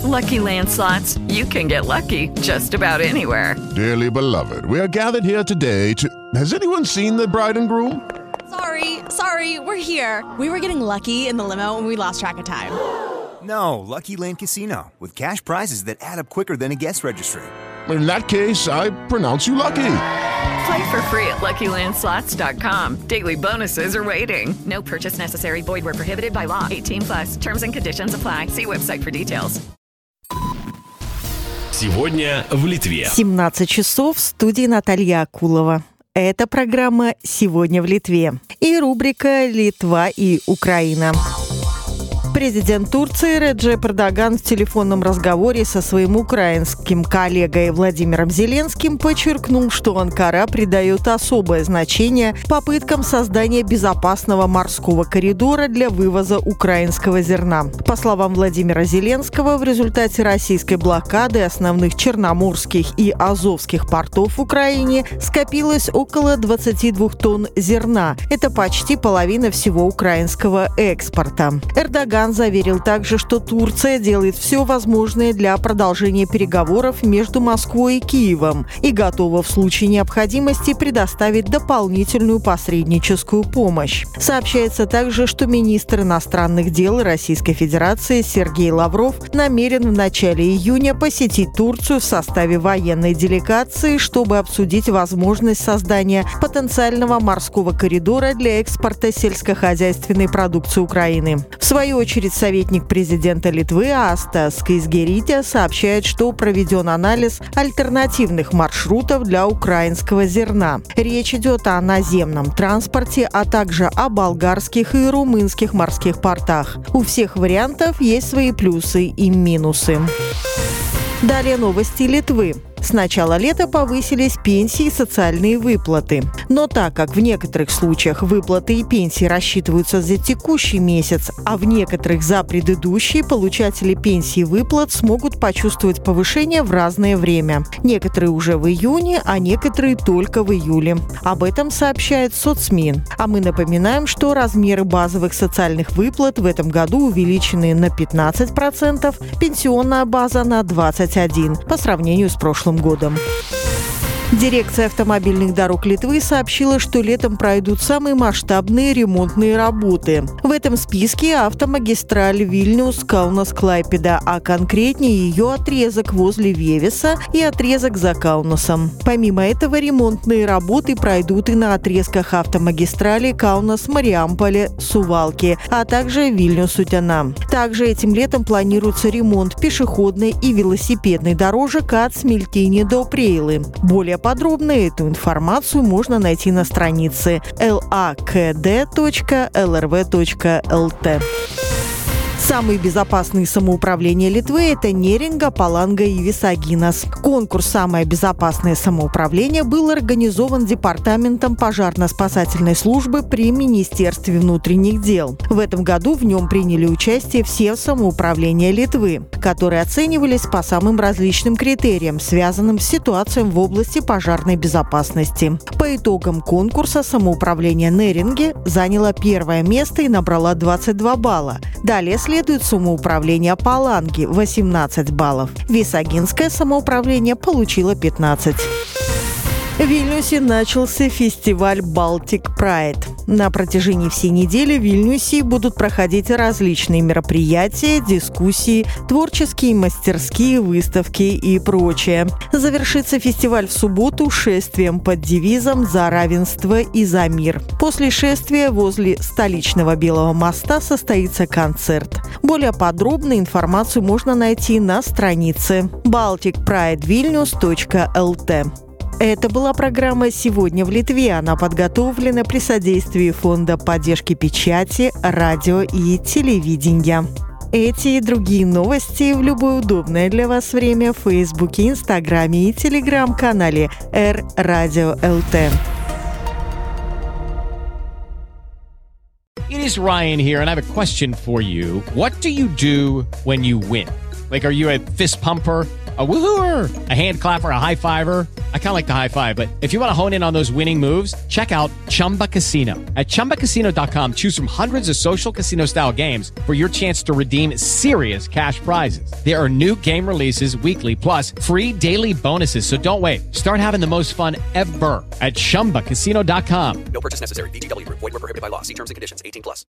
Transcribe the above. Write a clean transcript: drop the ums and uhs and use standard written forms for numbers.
Lucky Land Slots, you can get lucky just about anywhere. Dearly beloved, we are gathered here today to... Has anyone seen the bride and groom? Sorry, we're here. We were getting lucky in the limo and we lost track of time. No, Lucky Land Casino, with cash prizes that add up quicker than a guest registry. In that case, I pronounce you lucky. Play for free at LuckyLandSlots.com. Daily bonuses are waiting. No purchase necessary. Void where prohibited by law. 18+. Terms and conditions apply. See website for details. Сегодня в Литве. 17 часов в студии Наталья Акулова. Это программа «Сегодня в Литве» и рубрика «Литва и Украина». Президент Турции Реджеп Эрдоган в телефонном разговоре со своим украинским коллегой Владимиром Зеленским подчеркнул, что Анкара придает особое значение попыткам создания безопасного морского коридора для вывоза украинского зерна. По словам Владимира Зеленского, в результате российской блокады основных черноморских и азовских портов в Украине скопилось около 22 тонн зерна. Это почти половина всего украинского экспорта. Эрдоган заверил также, что Турция делает все возможное для продолжения переговоров между Москвой и Киевом и готова в случае необходимости предоставить дополнительную посредническую помощь. Сообщается также, что министр иностранных дел Российской Федерации Сергей Лавров намерен в начале июня посетить Турцию в составе военной делегации, чтобы обсудить возможность создания потенциального морского коридора для экспорта сельскохозяйственной продукции Украины. В свою очередь, советник президента Литвы Asta Skaisgirytė сообщает, что проведен анализ альтернативных маршрутов для украинского зерна. Речь идет о наземном транспорте, а также о болгарских и румынских морских портах. У всех вариантов есть свои плюсы и минусы. Далее новости Литвы. С начала лета повысились пенсии и социальные выплаты. Но так как в некоторых случаях выплаты и пенсии рассчитываются за текущий месяц, а в некоторых за предыдущий, получатели пенсий и выплат смогут почувствовать повышение в разное время. Некоторые уже в июне, а некоторые только в июле. Об этом сообщает соцмин. А мы напоминаем, что размеры базовых социальных выплат в этом году увеличены на 15%, пенсионная база на 21% по сравнению с прошлым годом. Дирекция автомобильных дорог Литвы сообщила, что летом пройдут самые масштабные ремонтные работы. В этом списке автомагистраль Вильнюс-Каунас-Клайпеда, а конкретнее ее отрезок возле Вевеса и отрезок за Каунасом. Помимо этого, ремонтные работы пройдут и на отрезках автомагистрали Каунас-Мариамполе-Сувалки, а также Вильнюс-Утена. Также этим летом планируется ремонт пешеходной и велосипедной дорожек от Смильтини до Прейлы. Более подробно эту информацию можно найти на странице lakd.lrv.lt. Самые безопасные самоуправления Литвы – это Неринга, Паланга и Висагинас. Конкурс «Самое безопасное самоуправление» был организован Департаментом пожарно-спасательной службы при Министерстве внутренних дел. В этом году в нем приняли участие все самоуправления Литвы, которые оценивались по самым различным критериям, связанным с ситуацией в области пожарной безопасности. По итогам конкурса самоуправление Неринги заняло первое место и набрала 22 балла. Далее следует самоуправление Паланги – 18 баллов. Висагинское самоуправление получило 15. В Вильнюсе начался фестиваль Baltic Pride. На протяжении всей недели в Вильнюсе будут проходить различные мероприятия, дискуссии, творческие мастерские, выставки и прочее. Завершится фестиваль в субботу шествием под девизом «За равенство и за мир». После шествия возле столичного Белого моста состоится концерт. Более подробную информацию можно найти на странице balticpridevilnius.lt. Это была программа «Сегодня в Литве». Она подготовлена при содействии Фонда поддержки печати, радио и телевидения. Эти и другие новости в любое удобное для вас время в Фейсбуке, Инстаграме и Телеграм-канале Р-Радио ЛТ. It is Ryan here, and I have a question for you. What do you do when you win? Like, are you a fist pumper? A woohooer, a hand clapper, a high fiver. I kind of like the high five, but if you want to hone in on those winning moves, check out Chumba Casino. At ChumbaCasino.com, choose from hundreds of social casino style games for your chance to redeem serious cash prizes. There are new game releases weekly, plus free daily bonuses. So don't wait. Start having the most fun ever at ChumbaCasino.com. No purchase necessary. VGW Group. Void where prohibited by law. See terms and conditions. 18+.